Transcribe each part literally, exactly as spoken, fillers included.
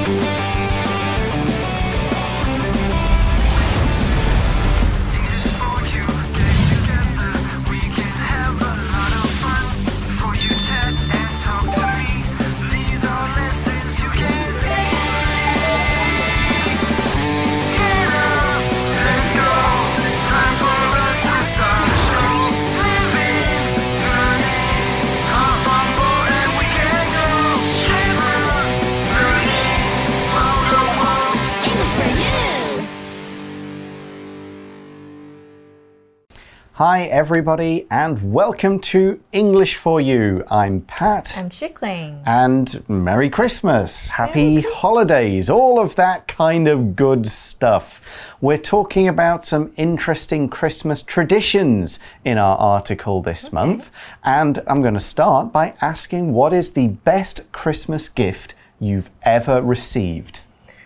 Hi everybody and welcome to English for You. I'm Pat. I'm Chickling. And Merry Christmas. Happy Merry Christmas. holidays. All of that kind of good stuff. We're talking about some interesting Christmas traditions in our article this okay. month. And I'm going to start by asking, what is the best Christmas gift you've ever received?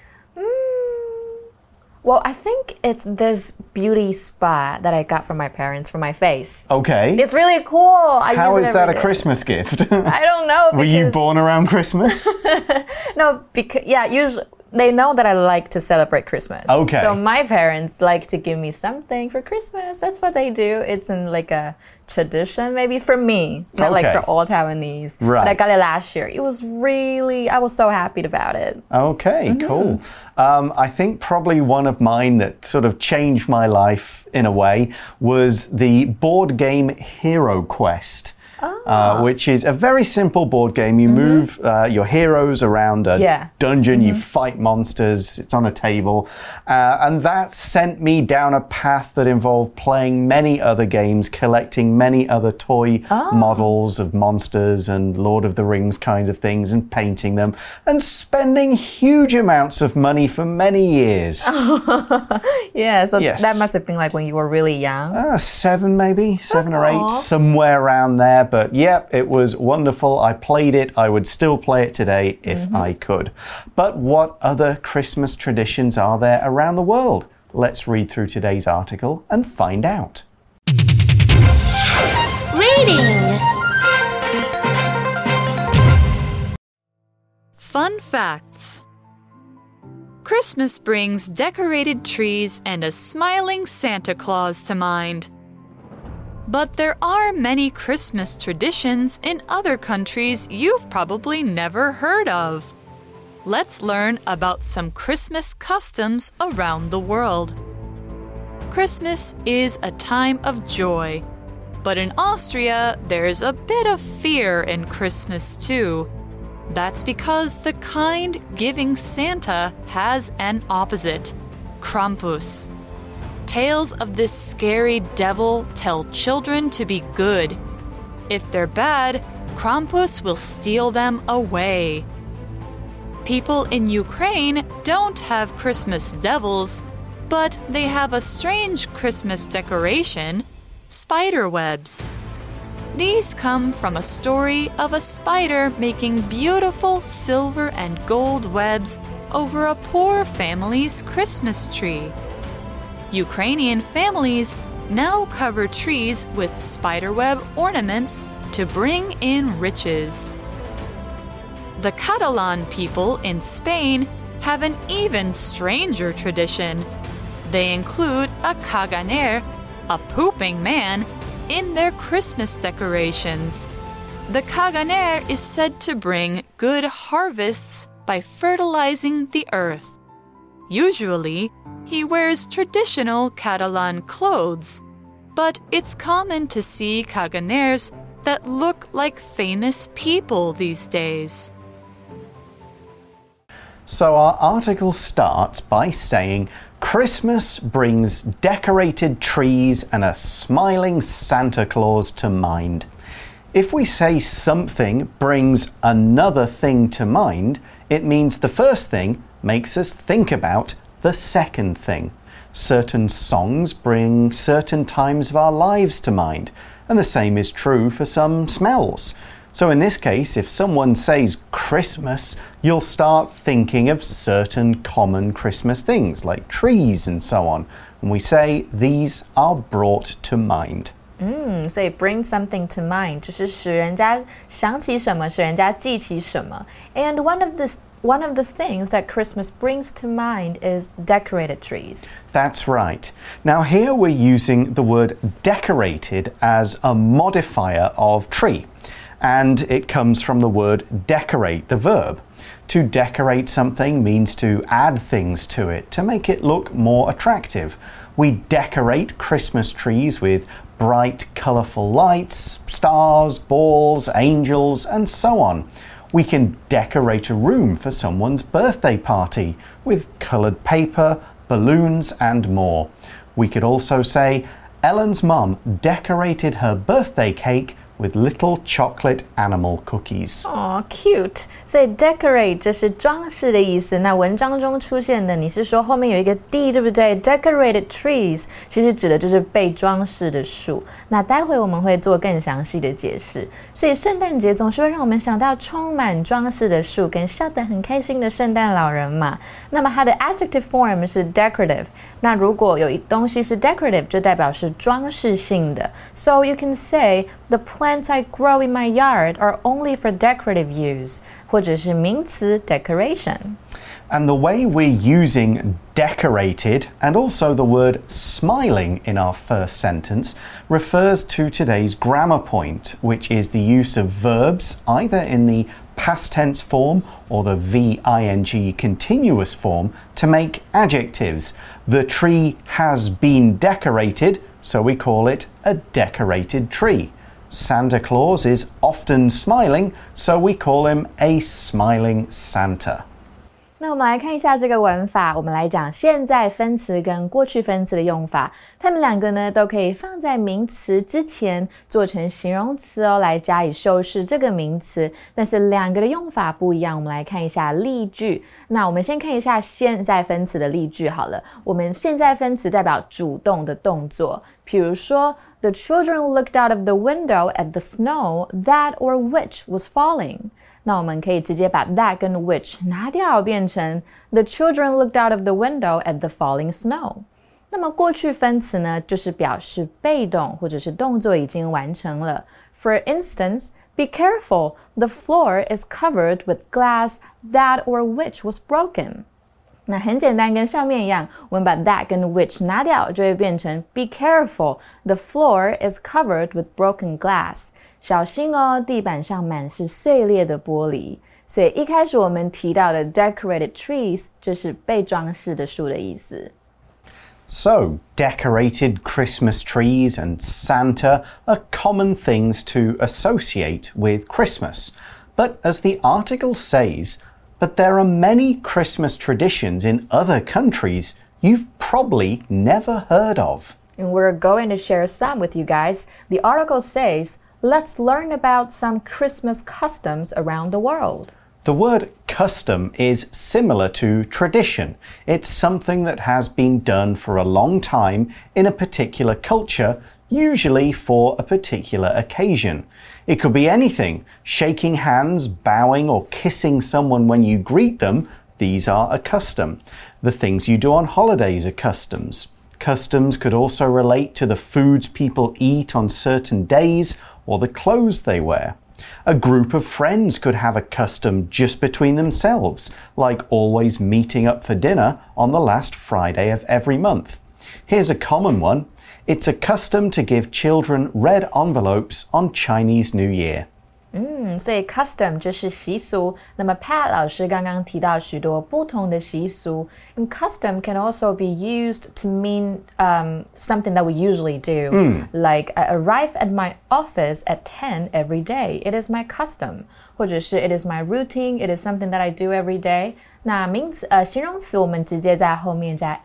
Well, I think it's this beauty spa that I got from my parents for my face. Okay. It's really cool. I How use is it that every a day. Christmas gift? I don't know. Were you born around Christmas? No, because yeah, usually they know that I like to celebrate Christmas. Okay. So my parents like to give me something for Christmas. That's what they do. It's in like a tradition, maybe for me, not Okay. like for all Taiwanese. Right. But I got it last year. It was really, I was so happy about it. Okay, Mm-hmm. cool. Um, I think probably one of mine that sort of changed my life in a way was the board game Hero Quest. Oh. Uh, which is a very simple board game. You mm-hmm. move uh, your heroes around a yeah. dungeon, mm-hmm. you fight monsters, it's on a table. Uh, and that sent me down a path that involved playing many other games, collecting many other toy oh. models of monsters and Lord of the Rings kinds of things and painting them and spending huge amounts of money for many years. Yeah, so yes. that must have been like when you were really young. Uh, seven maybe, seven Aww. or eight, somewhere around there. But yep, it was wonderful. I played it. I would still play it today if mm-hmm. I could. But what other Christmas traditions are there around the world? Let's read through today's article and find out. Reading. Fun facts. Christmas brings decorated trees and a smiling Santa Claus to mind. But there are many Christmas traditions in other countries you've probably never heard of. Let's learn about some Christmas customs around the world. Christmas is a time of joy, but in Austria, there's a bit of fear in Christmas too. That's because the kind, giving Santa has an opposite, Krampus. Tales of this scary devil tell children to be good. If they're bad, Krampus will steal them away. People in Ukraine don't have Christmas devils, but they have a strange Christmas decoration, spider webs. These come from a story of a spider making beautiful silver and gold webs over a poor family's Christmas tree. Ukrainian families now cover trees with spiderweb ornaments to bring in riches. The Catalan people in Spain have an even stranger tradition. They include a caganer, a pooping man, in their Christmas decorations. The caganer is said to bring good harvests by fertilizing the earth. Usually, he wears traditional Catalan clothes, but it's common to see caganers that look like famous people these days. So our article starts by saying Christmas brings decorated trees and a smiling Santa Claus to mind. If we say something brings another thing to mind, it means the first thing makes us think about the second thing. Certain songs bring certain times of our lives to mind, and the same is true for some smells. So in this case, if someone says Christmas, you'll start thinking of certain common Christmas things like trees and so on. And we say these are brought to mind. 嗯，所以 bring something to mind 就是使人家想起什么，使人家记起什么。And one of the one of the things that Christmas brings to mind is decorated trees. That's right. Now here we're using the word decorated as a modifier of tree, and it comes from the word decorate, the verb. To decorate something means to add things to it, to make it look more attractive. We decorate Christmas trees with bright, colourful lights, stars, balls, angels, and so on. We can decorate a room for someone's birthday party with coloured paper, balloons, and more. We could also say, Ellen's mum decorated her birthday cake with little chocolate animal cookies. Aw, cute. 所以 decorate 就是装饰的意思。那文章中出现的，你是说后面有一个 d 对不对 ？Decorated trees 其實指的就是被裝飾的樹。那待會我們會做更詳細的解釋。所以聖誕節總是會讓我們想到充滿裝飾的樹跟笑得很開心的聖誕老人嘛。那麼它的 adjective form 是 decorative。那如果有東西是 decorative， 就代表是裝飾性的。So you can say the plants I grow in my yard are only for decorative use. 或者是名詞 decoration. And the way we're using decorated and also the word smiling in our first sentence refers to today's grammar point, which is the use of verbs either in the past tense form or the V I N G continuous form to make adjectives. The tree has been decorated, so we call it a decorated tree. Santa Claus is often smiling, so we call him a smiling Santa. 那我们来看一下这个文法，我们来講現在分詞跟過去分詞的用法，它們兩個呢都可以放在名詞之前做成形容詞哦，來加以修飾這個名詞，但是兩個的用法不一樣，我們來看一下例句。那我們先看一下現在分詞的例句好了，我們現在分詞代表主動的動作，比如說The children looked out of the window at the snow that or which was falling. 那我們可以直接把 that 跟 which 拿掉，變成 The children looked out of the window at the falling snow. 那麼過去分詞呢，就是表示被動或者是動作已經完成了。For instance, be careful, the floor is covered with glass that or which was broken. 那很簡單，跟上面一樣，我們把 that 跟 which 拿掉，就會變成 Be careful, the floor is covered with broken glass. 小心哦，地板上滿是碎裂的玻璃。所以一開始我們提到的 decorated trees 就是被裝飾的樹的意思。 So, decorated Christmas trees and Santa are common things to associate with Christmas. But as the article says, But there are many Christmas traditions in other countries you've probably never heard of. And we're going to share some with you guys. The article says, let's learn about some Christmas customs around the world. The word custom is similar to tradition. It's something that has been done for a long time in a particular culture, usually for a particular occasion. It could be anything, shaking hands, bowing, or kissing someone when you greet them. These are a custom. The things you do on holidays are customs. Customs could also relate to the foods people eat on certain days or the clothes they wear. A group of friends could have a custom just between themselves, like always meeting up for dinner on the last Friday of every month. Here's a common one. It's a custom to give children red envelopes on Chinese New Year. 嗯，所以 custom 就是習俗。那麼 Pat 老師剛剛提到許多不同的習俗。And custom can also be used to mean um, something that we usually do. Mm. Like, I arrive at my office at ten every day. It is my custom. 或者是 it is my routine. It is something that I do every day. 那名詞呃形容詞我們直接在後面加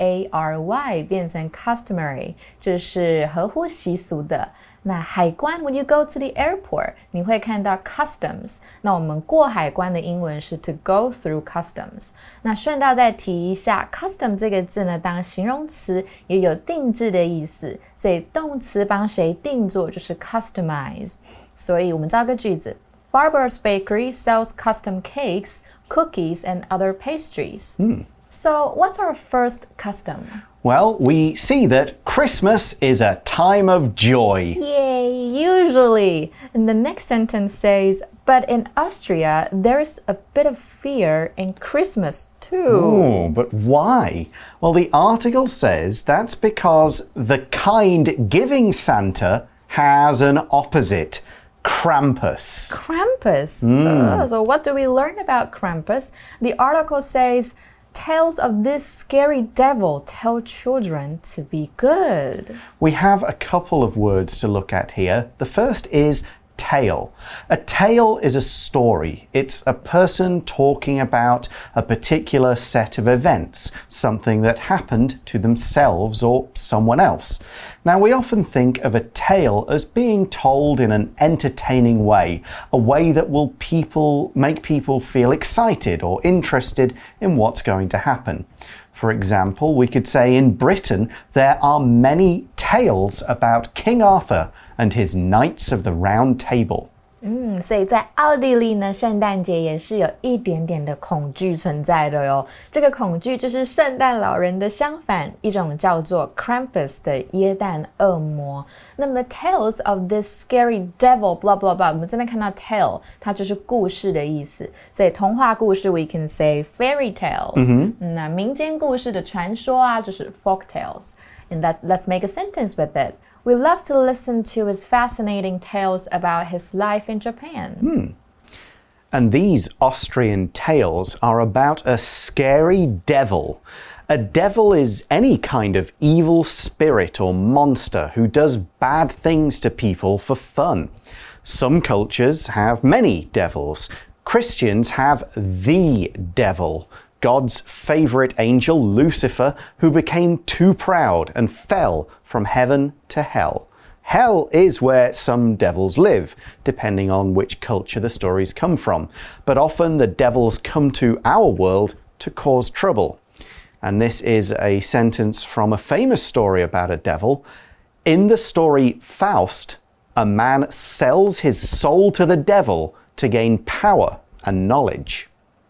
ary 變成 customary， 就是合乎習俗的。那海關 when you go to the airport 你會看到 customs， 那我們過海關的英文是 to go through customs。 那順道再提一下 custom 這個字呢，當形容詞也有定制的意思，所以動詞幫誰定做就是 customize。 所以我們造個句子， Barbara's bakery sells custom cakes, cookies and other pastries. Mm. So what's our first custom? Well, we see that Christmas is a time of joy. Yay! usually. And the next sentence says, but in Austria, there's a bit of fear in Christmas too. Ooh, but why? Well, the article says that's because the kind giving Santa has an opposite. Krampus. Krampus. Mm. Oh, so what do we learn about Krampus? The article says, tales of this scary devil tell children to be good. We have a couple of words to look at here. The first is tale. A tale is a story. It's a person talking about a particular set of events, something that happened to themselves or someone else. Now, we often think of a tale as being told in an entertaining way, a way that will people make people feel excited or interested in what's going to happen. For example, we could say in Britain there are many tales about King Arthur and his Knights of the Round Table. 嗯，所以在奥地利呢，圣诞节也是有一点点的恐惧存在的哟。这个恐惧就是圣诞老人的相反，一种叫做 Krampus 的耶诞恶魔。那麼 tales of this scary devil blah blah blah， 我們這邊看到 tale， 它就是故事的意思。所以童話故事 we can say fairy tales。嗯哼，那民間故事的傳說啊，就是 folk tales。And that's, let's make a sentence with it. We love to listen to his fascinating tales about his life in Japan. Hmm. And these Austrian tales are about a scary devil. A devil is any kind of evil spirit or monster who does bad things to people for fun. Some cultures have many devils. Christians have the devil, God's favorite angel, Lucifer, who became too proud and fell from heaven to hell. Hell is where some devils live, depending on which culture the stories come from. But often the devils come to our world to cause trouble. And this is a sentence from a famous story about a devil. In the story Faust, a man sells his soul to the devil to gain power and knowledge.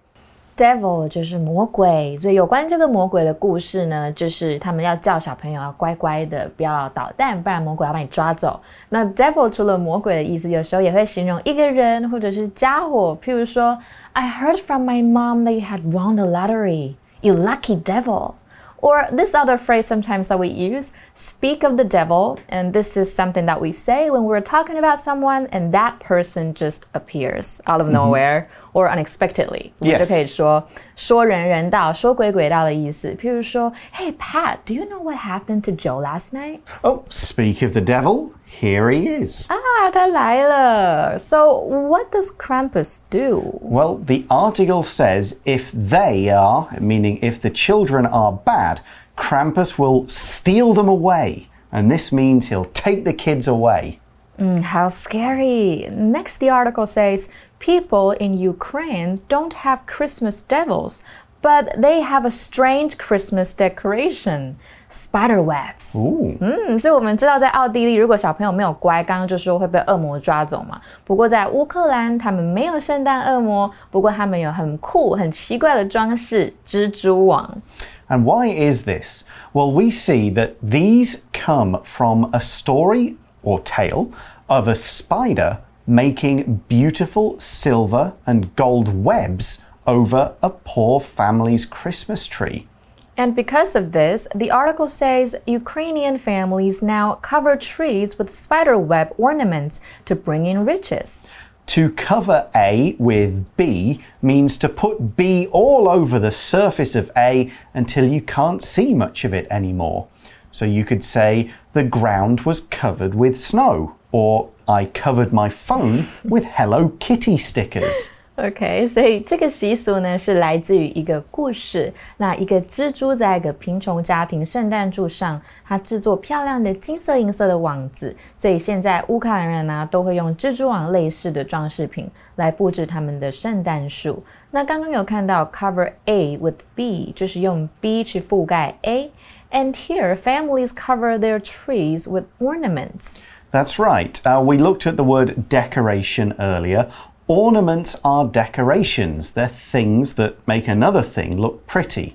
Devil 就是魔鬼，所以有關這個魔鬼的故事呢，就是他們要叫小朋友要乖乖的，不要搗蛋，不然魔鬼要把你抓走。那 devil 除了魔鬼的意思，有時候也會形容一個人或者是家伙，譬如說 I heard from my mom that you had won the lottery, you lucky devil. Or this other phrase sometimes that we use, speak of the devil, and this is something that we say when we're talking about someone and that person just appears out of nowhere mm-hmm. or unexpectedly. 我们就可以说說人人道，說鬼鬼道的意思。譬如說 Hey Pat, do you know what happened to Joe last night? Oh, speak of the devil, here he is. 啊，他來了。So what does Krampus do? Well, the article says if they are, meaning if the children are bad, Krampus will steal them away. And this means he'll take the kids away. Mm, how scary. Next, the article says, people in Ukraine don't have Christmas devils, but they have a strange Christmas decoration, spider webs. Ooh. 嗯，所以我们知道在奧地利，如果小朋友沒有乖，剛剛就說會被惡魔抓走嘛。不過在烏克蘭，他們沒有聖誕惡魔，不過他們有很酷、很奇怪的裝飾——蜘蛛網。 And why is this? Well, we see that these come from a story or tale of a spider making beautiful silver and gold webs over a poor family's Christmas tree. And because of this, the article says Ukrainian families now cover trees with spiderweb ornaments to bring in riches. To cover A with B means to put B all over the surface of A until you can't see much of it anymore. So you could say, the ground was covered with snow, or I covered my phone with Hello Kitty stickers. OK， 所以這個習俗呢是來自於一個故事。那一個蜘蛛在一個貧窮家庭聖誕樹上，它製作漂亮的金色銀色的網子。所以現在烏克蘭人呢都會用蜘蛛網類似的裝飾品來佈置他們的聖誕樹。那剛剛有看到 cover A with B， 就是用 B 去覆蓋 A。And here, families cover their trees with ornaments. That's right. Uh, we looked at the word decoration earlier. Ornaments are decorations. They're things that make another thing look pretty.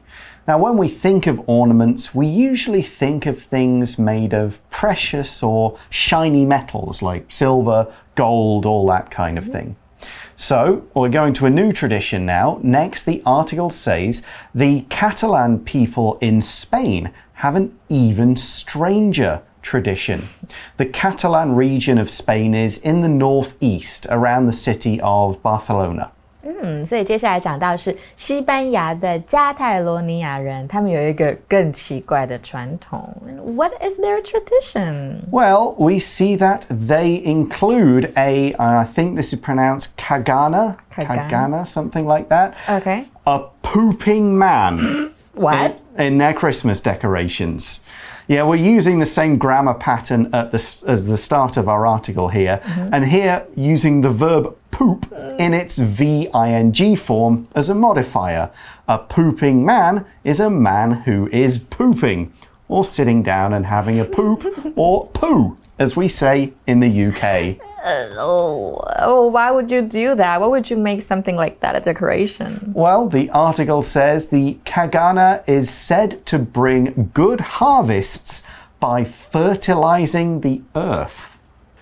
Now, when we think of ornaments, we usually think of things made of precious or shiny metals like silver, gold, all that kind of thing. So, we're going to a new tradition now. Next, the article says the Catalan people in Spain have an even stranger tradition. The Catalan region of Spain is in the northeast, around the city of Barcelona. 嗯，所以接下來講到是西班牙的加泰羅尼亞人，他們有一個更奇怪的傳統。What is their tradition? Well, we see that they include a, I think this is pronounced cagana, cagana, cagana something like that. Okay. A pooping man. What? In, in their Christmas decorations. Yeah, we're using the same grammar pattern at the, as the start of our article here. Mm-hmm. And here, using the verb poop in its V I N G form as a modifier. A pooping man is a man who is pooping, or sitting down and having a poop, or poo, as we say in the U K. Uh, oh, oh, why would you do that? Why would you make something like that a decoration? Well, the article says the cagana is said to bring good harvests by fertilizing the earth.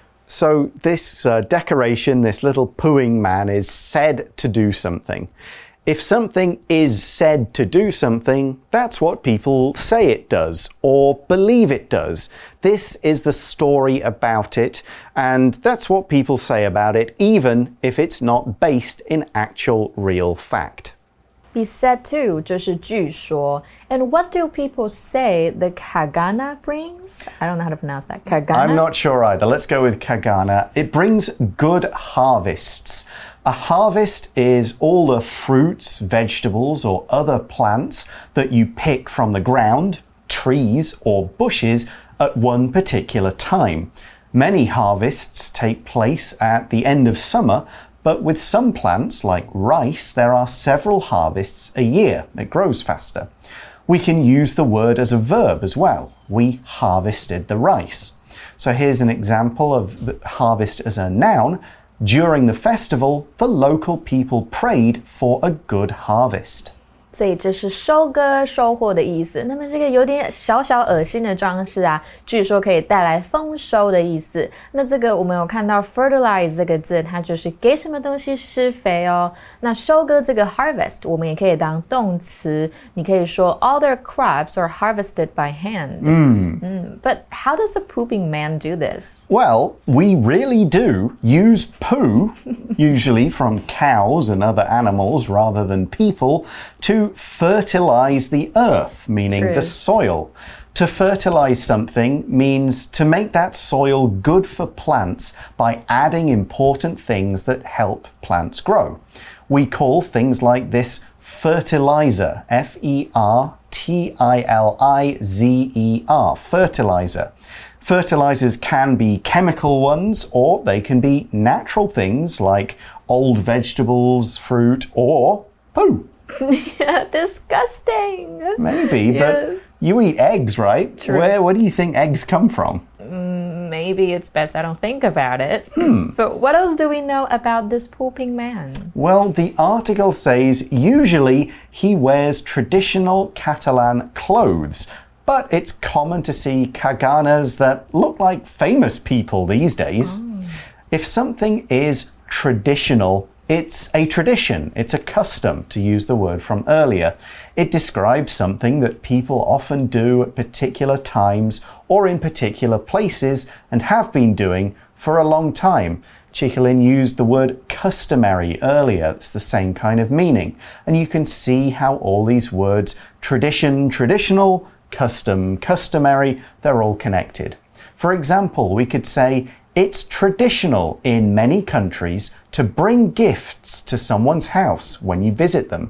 So this uh, decoration, this little pooing man, is said to do something. If something is said to do something, that's what people say it does or believe it does. This is the story about it, and that's what people say about it, even if it's not based in actual real fact. Be said to 就是据说. And what do people say the cagana brings? I don't know how to pronounce that. Cagana? I'm not sure either. Let's go with cagana. It brings good harvests. A harvest is all the fruits, vegetables, or other plants that you pick from the ground, trees, or bushes at one particular time. Many harvests take place at the end of summer, but with some plants, like rice, there are several harvests a year. It grows faster. We can use the word as a verb as well. We harvested the rice. So here's an example of the harvest as a noun. During the festival, the local people prayed for a good harvest. 所以这是收割收获的意思。那么这个有点小小噁心的装饰啊，据說可以帶來豐收的意思。那這個我們有看到 fertilize 這個字，它就是給什麼東西施肥哦。那收割這個 harvest 我們也可以當動詞，你可以說 all their crops are harvested by hand. Mm. Mm, but how does a pooping man do this? Well, we really do use poo, usually from cows and other animals rather than people, to fertilize the earth, meaning True. the soil. To fertilize something means to make that soil good for plants by adding important things that help plants grow. We call things like this fertilizer, F E R T I L I Z E R, fertilizer. Fertilizers can be chemical ones, or they can be natural things like old vegetables, fruit, or poo. Yeah, disgusting. Maybe, yeah. but you eat eggs, right? True. Where, where do you think eggs come from? Mm, maybe it's best I don't think about it. Hmm. But what else do we know about this pooping man? Well, the article says usually he wears traditional Catalan clothes, but it's common to see caganas that look like famous people these days. Oh. If something is traditional, it's a tradition, it's a custom, to use the word from earlier. It describes something that people often do at particular times or in particular places and have been doing for a long time. Chicolin used the word customary earlier. It's the same kind of meaning. And you can see how all these words, tradition, traditional, custom, customary, they're all connected. For example, we could say, it's traditional in many countries to bring gifts to someone's house when you visit them.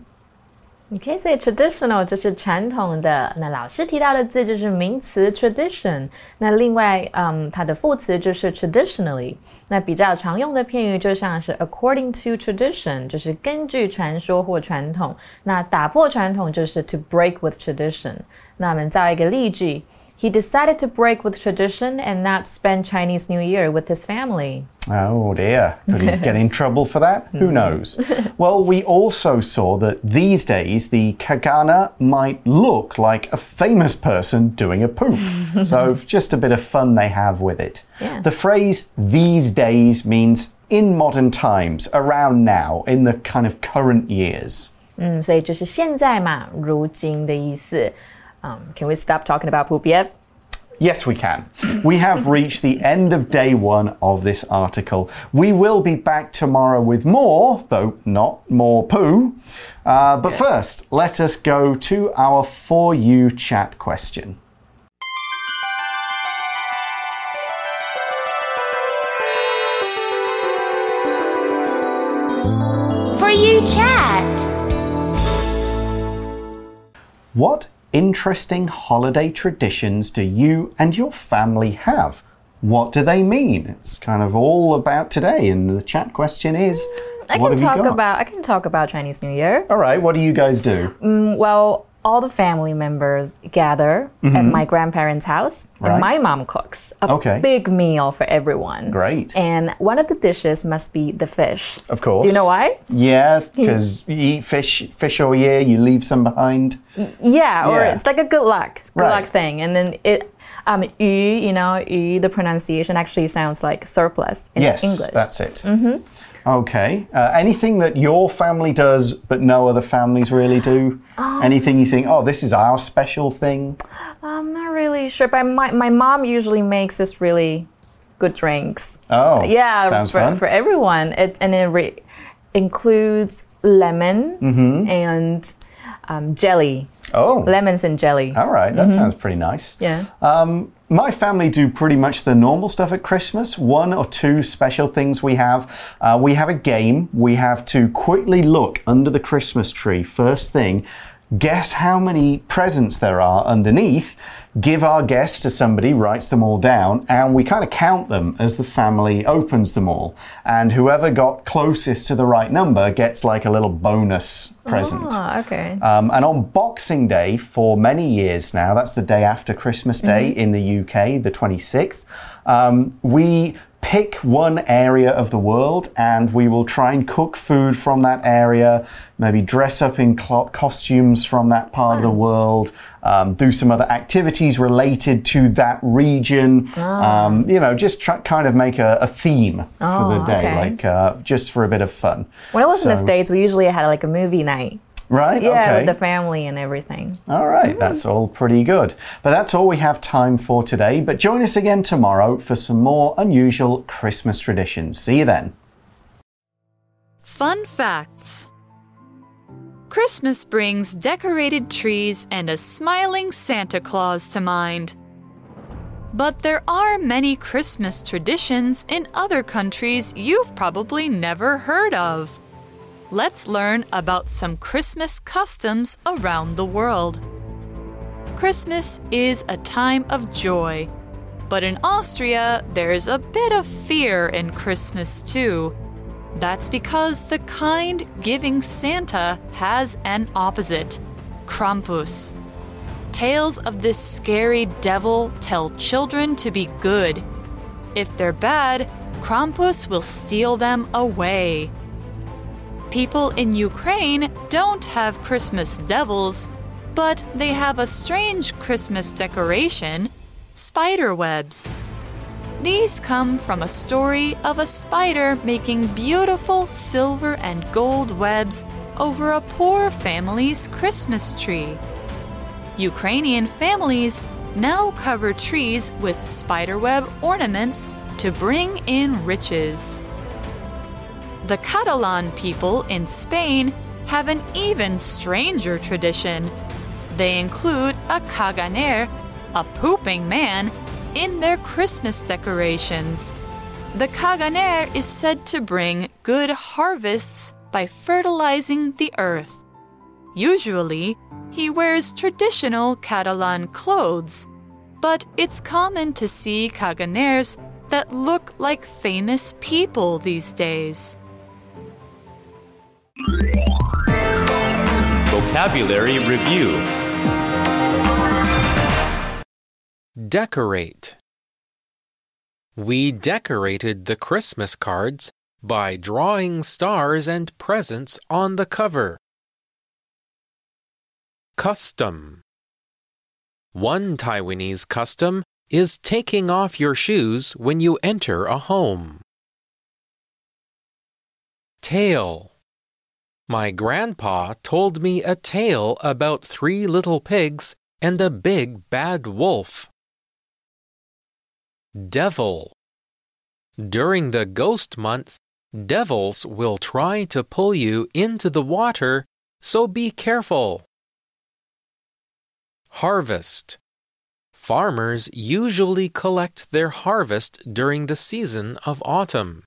Okay, 所以 traditional 就是傳統的。那老師提到的字就是名詞 tradition。那另外，嗯，它的副詞就是 traditionally。那比較常用的片語就像是 according to tradition， 就是根據傳說或傳統。那打破傳統就是 to break with tradition。那我們造一個例句。 he decided to break with tradition and not spend Chinese New Year with his family. Oh dear, could he get in trouble for that? Who knows? Well, we also saw that these days the Kagana might look like a famous person doing a poof. So just a bit of fun they have with it. Yeah. The phrase these days means in modern times, around now, in the kind of current years. 嗯，所以就是现在嘛，如今的意思。Um, can we stop talking about poop yet? Yes, we can. We have reached the end of day one of this article. We will be back tomorrow with more, though not more poo. Uh, but first, let us go to our For You chat question. For You chat. What interesting holiday traditions do you and your family have? What do they mean? It's kind of all about today, and the chat question is, I what can have talk you got? about I can talk about Chinese New Year. All right, what do you guys do? Mm, well, all the family members gather mm-hmm. at my grandparents' house, right. and my mom cooks a okay. big meal for everyone. Great. And one of the dishes must be the fish. Of course. Do you know why? Yeah, because you eat fish fish all year, you leave some behind. Y yeah, or yeah. it's like a good luck, good right. luck thing. And then it, um, yu, you know, yu, the pronunciation actually sounds like surplus in yes, English. Yes, that's it. Mm-hmm. Okay. Uh, anything that your family does but no other families really do? Um, anything you think, oh, this is our special thing? I'm not really sure, but my, my mom usually makes this really good drinks. Oh, yeah, sounds for, fun. for everyone. It, and it re includes lemons mm-hmm. and um, jelly. Oh. Lemons and jelly. All right, that mm-hmm. sounds pretty nice. Yeah. Um, my family do pretty much the normal stuff at Christmas. One or two special things we have. Uh, we have a game. We have to quickly look under the Christmas tree. First thing, guess how many presents there are underneath. Give our guess to somebody, writes them all down, and we kind of count them as the family opens them all. And whoever got closest to the right number gets like a little bonus present. Oh, okay. Um, and on Boxing Day, for many years now, that's the day after Christmas Day mm-hmm. in the U K, the twenty-sixth, um, we pick one area of the world and we will try and cook food from that area, maybe dress up in costumes from that part of the world, um, do some other activities related to that region, oh. um, you know, just try, kind of make a, a theme oh, for the day, okay. like uh, just for a bit of fun. When I was so, in the States, we usually had like a movie night. Right? Yeah, okay. with the family and everything. All right, mm. that's all pretty good. But that's all we have time for today. But join us again tomorrow for some more unusual Christmas traditions. See you then. Fun facts. Christmas brings decorated trees and a smiling Santa Claus to mind. But there are many Christmas traditions in other countries you've probably never heard of. Let's learn about some Christmas customs around the world. Christmas is a time of joy, but in Austria, there's a bit of fear in Christmas too. That's because the kind, giving Santa has an opposite, Krampus. Tales of this scary devil tell children to be good. If they're bad, Krampus will steal them away. People in Ukraine don't have Christmas devils, but they have a strange Christmas decoration, spider webs. These come from a story of a spider making beautiful silver and gold webs over a poor family's Christmas tree. Ukrainian families now cover trees with spiderweb ornaments to bring in riches. The Catalan people in Spain have an even stranger tradition. They include a caganer, a pooping man, in their Christmas decorations. The caganer is said to bring good harvests by fertilizing the earth. Usually, he wears traditional Catalan clothes, but it's common to see caganers that look like famous people these days. Vocabulary Review. Decorate. We decorated the Christmas cards by drawing stars and presents on the cover. Custom. One Taiwanese custom is taking off your shoes when you enter a home. Tale. My grandpa told me a tale about three little pigs and a big bad wolf. Devil. During the ghost month, devils will try to pull you into the water, so be careful. Harvest. Farmers usually collect their harvest during the season of autumn.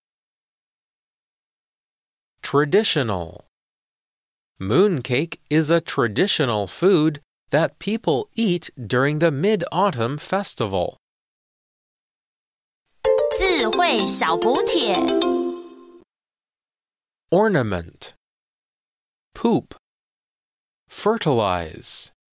Traditional. Mooncake is a traditional food that people eat during the Mid-Autumn Festival. 智慧小補帖 Ornament. Poop. Fertilize.